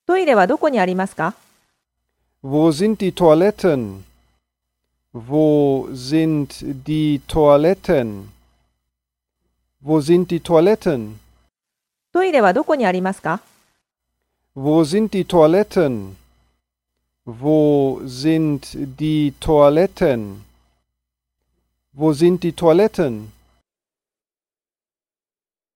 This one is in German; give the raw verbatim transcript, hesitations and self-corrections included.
トイレはどこにありますか？ Wo sind die Toiletten? Wo sind die Toiletten? Wo sind die Toiletten? トイレはどこにありますか？ Wo sind die Toiletten? Wo sind die Toiletten? Wo sind die Toiletten?